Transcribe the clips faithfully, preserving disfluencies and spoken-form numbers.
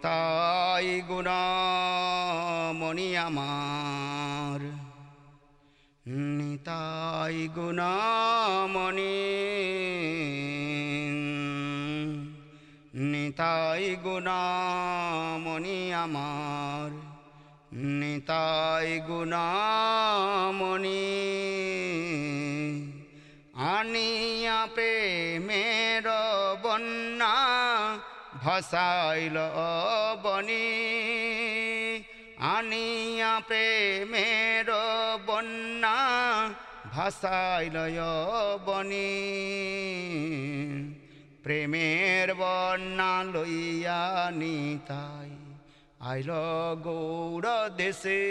নিতাই গুণমণি আমার, নিতাই গুণমণি, নিতাই গুণমণি আমার, নিতাই গুণমণি। আনিয়া প্রেমের বন্যা ভাসাইল বনি, আনিয়া প্রেমের বন্যা ভাসাইল বনি। প্রেমের বন্যা লইয়া নিতাই আইল গৌর দেশে,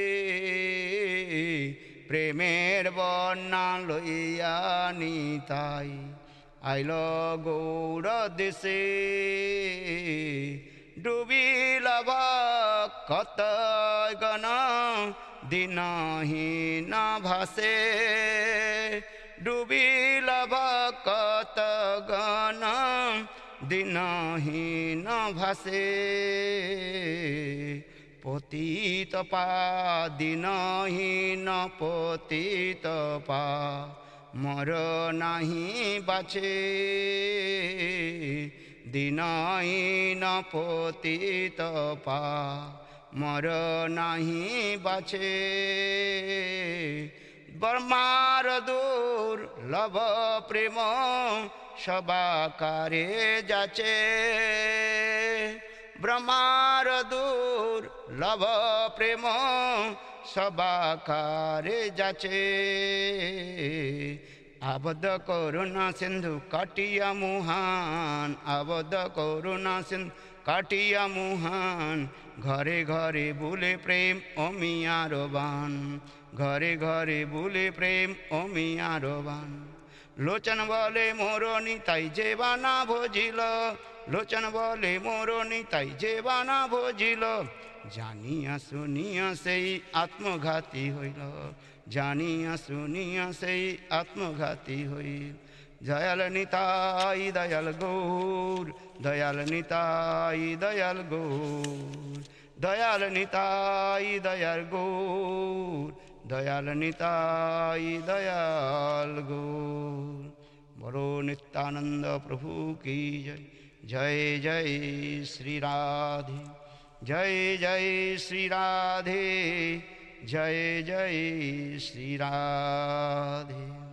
প্রেমের বন্যা লইয়া নিতাই আইল গৌর দেশে। ডুবিল কত গণ দিনহীন ভাসে, ডুবিল কত গণ দিনহীন ভাসে। পতিত পা দিনহীন পতিত পা মর নাহি বাছে, দিনহীন পতিত পা মর নাহি বাছে। ব্রহ্মার দূর লভ প্রেম সবাকারে যাচে, ব্রহ্মার দূর লভ প্রেম সবাকারে যাচে। আবদ্ধ করুণা সিন্ধু কাটিয়া মুহান, আবদ্ধ করুণা সিন্ধু কাটিয়া মুহান। ঘরে ঘরে বুলে প্রেম অমিয়ার বান, ঘরে ঘরে বুলে প্রেম অমিয়ার বান। লোচন বলে মোর নিতাই যে বানা ভজিল, লোচন বলে মোর নিতাই যে বানা ভজিল। জানিয়া শুনিয়া সেই আত্মঘাতী হইল, জানিয়া শুনিয়া সেই আত্মঘাতী হইল। দয়াল নিতাই দয়াল গৌর, দয়াল নিতাই দয়াল গৌর, দয়াল নিতাই দয়াল গৌর, দয়াল নিতাই দয়াল গৌর। বলো নিত্যানন্দ প্রভু কি জয়, জয় জয় শ্রী রাধে, জয় জয় শ্রী রাধে, জয় জয় শ্রী রাধে।